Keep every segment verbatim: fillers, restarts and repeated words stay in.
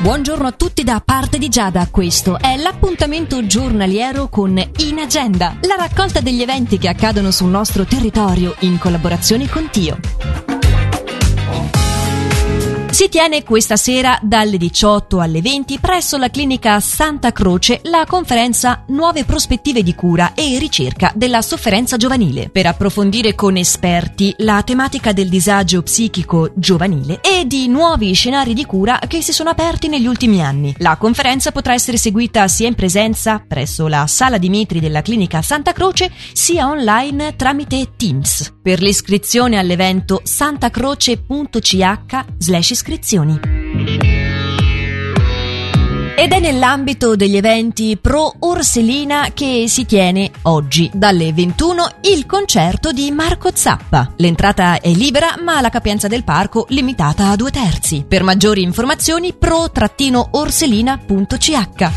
Buongiorno a tutti da parte di Giada, questo è l'appuntamento giornaliero con In Agenda, la raccolta degli eventi che accadono sul nostro territorio in collaborazione con Tio. Si tiene questa sera dalle diciotto alle venti presso la clinica Santa Croce la conferenza Nuove prospettive di cura e ricerca della sofferenza giovanile, per approfondire con esperti la tematica del disagio psichico giovanile e di nuovi scenari di cura che si sono aperti negli ultimi anni. La conferenza potrà essere seguita sia in presenza presso la Sala Dimitri della clinica Santa Croce sia online tramite Teams. Per l'iscrizione all'evento santacroce punto c h slash iscrizioni. Ed è nell'ambito degli eventi Pro Orselina che si tiene oggi dalle ventuno il concerto di Marco Zappa. L'entrata è libera ma la capienza del parco limitata a due terzi. Per maggiori informazioni pro orselina punto c h.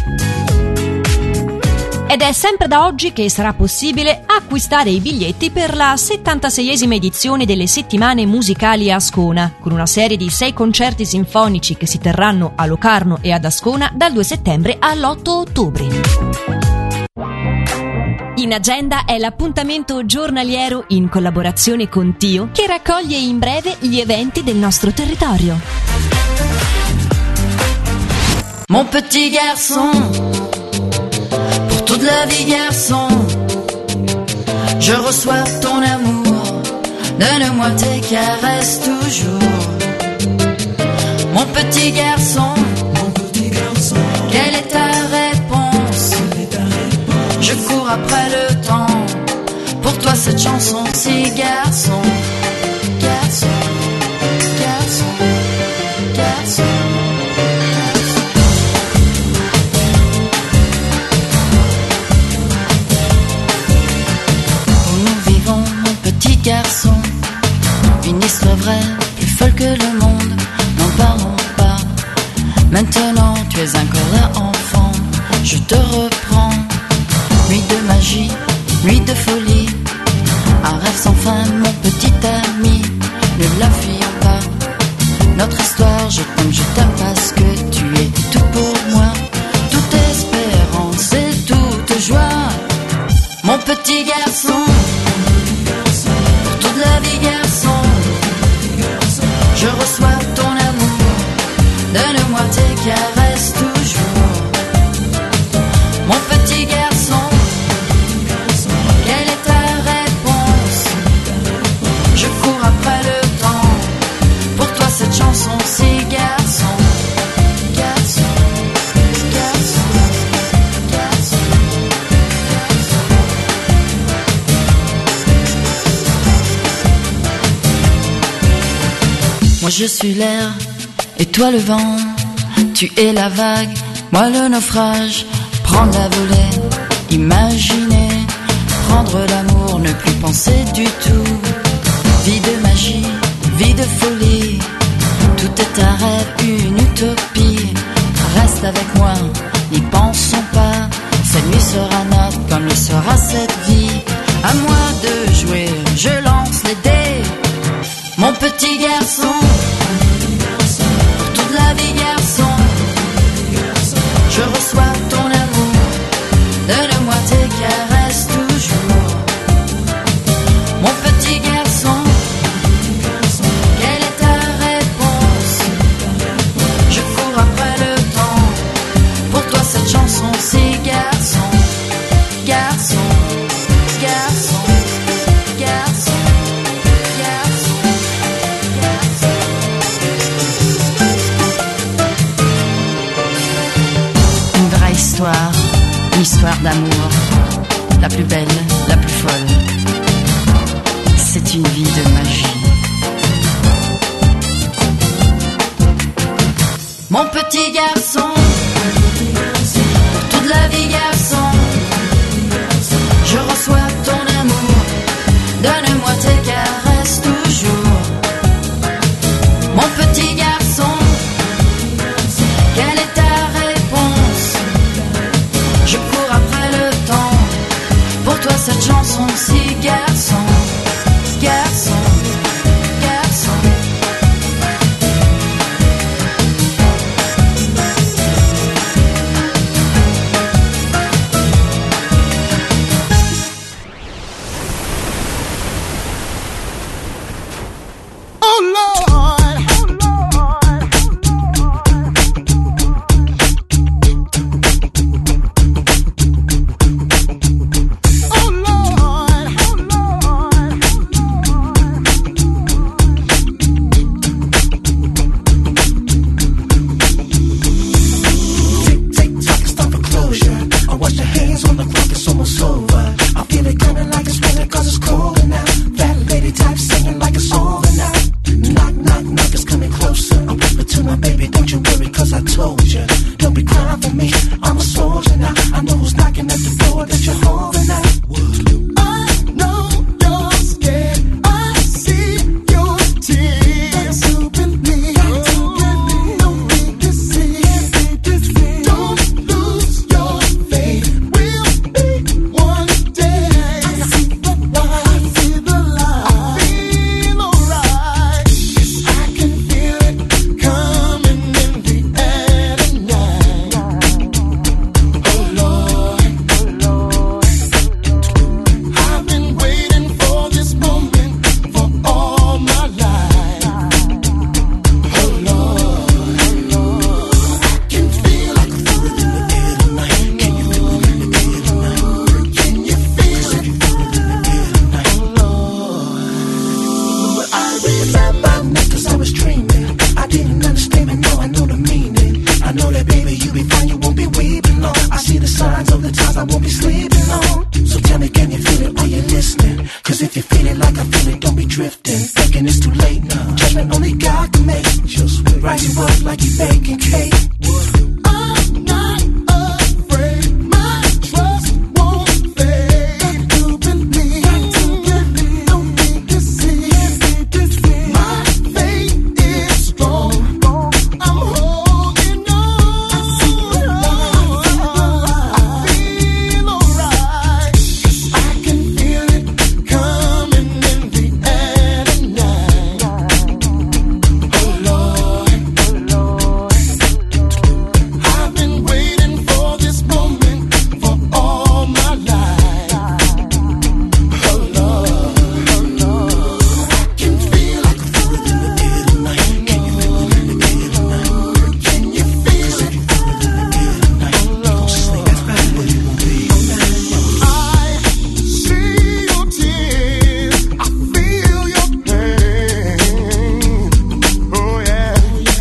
Ed è sempre da oggi che sarà possibile acquistare i biglietti per la settantaseiesima edizione delle Settimane Musicali Ascona, con una serie di sei concerti sinfonici che si terranno a Locarno e ad Ascona dal due settembre all'otto ottobre. In Agenda è l'appuntamento giornaliero in collaborazione con Tio che raccoglie in breve gli eventi del nostro territorio. Mon petit garçon, toute la vie garçon, je reçois ton amour, donne-moi tes caresses toujours. Mon petit garçon, mon petit garçon, quelle est ta réponse? Je cours après le temps, pour toi cette chanson, si garçon, garçon, garçon, garçon. Garçon, une histoire vraie, plus folle que le monde, n'en parlons pas. Maintenant tu es encore là enfant, je te reprends. Nuit de magie, nuit de folie, un rêve sans fin mon petit ami. Ne la fuyons pas, notre histoire je t'aime, je t'aime parce que tu es tout pour moi. Toute espérance et toute joie, mon petit garçon. La vie garçon, je reçois ton amour, donne-moi tes caresses toujours. Mon petit garçon, quelle est ta réponse? Je cours après le temps, pour toi cette chanson, si garçon, garçon, garçon, garçon. Moi je suis l'air, et toi le vent. Tu es la vague, moi le naufrage. Prendre la volée, imaginer, prendre l'amour, ne plus penser du tout. Vie de magie, vie de folie, tout est un rêve, une utopie. Reste avec moi, n'y pensons pas. Cette nuit sera notre, comme le sera cette vie. À moi de jouer, je lance les dés. Mon petit garçon, pour toute la vie garçon, je reçois ton amour, donne-moi tes caresses toujours. Mon petit garçon, quelle est ta réponse? Je cours après le temps, pour toi cette chanson, si garçon, garçon, garçon, garçon. Histoire, une histoire d'amour, la plus belle, la plus folle. C'est une vie de magie. Mon petit garçon, pour toute la vie garçon, je reçois ton amour, donne-moi tes caresses toujours. Mon petit garçon, quelle est ta réponse? Je cours après le temps, pour toi cette chanson, si garçon, garçon, garçon. for me. I'm a soldier now. I know who's knocking at the door that you're holding at. I know you're scared. I see your tears. Got to believe. Got to believe. Don't be deceived. Don't lose your faith. We'll be one day. I see the light. I see the light. I feel alright. I can feel it coming in the air tonight. Oh Lord, oh Lord, I've been waiting for this moment for all my life. Oh Lord, oh Lord, I can feel it. Can you feel it in the air tonight? Can you feel it? Oh Lord, but I remember, cause I was dreaming. I didn't understand, but now I know the meaning. I know that baby, you'll be fine, you won't be weeping long. I see the signs of the times I won't be sleeping on. So tell me, can you feel it? Are you listening? Cause if you feel it like I feel it, don't be drifting. Thinking it's too late now. Judgment only God can make. Just rise you up like you baking cake.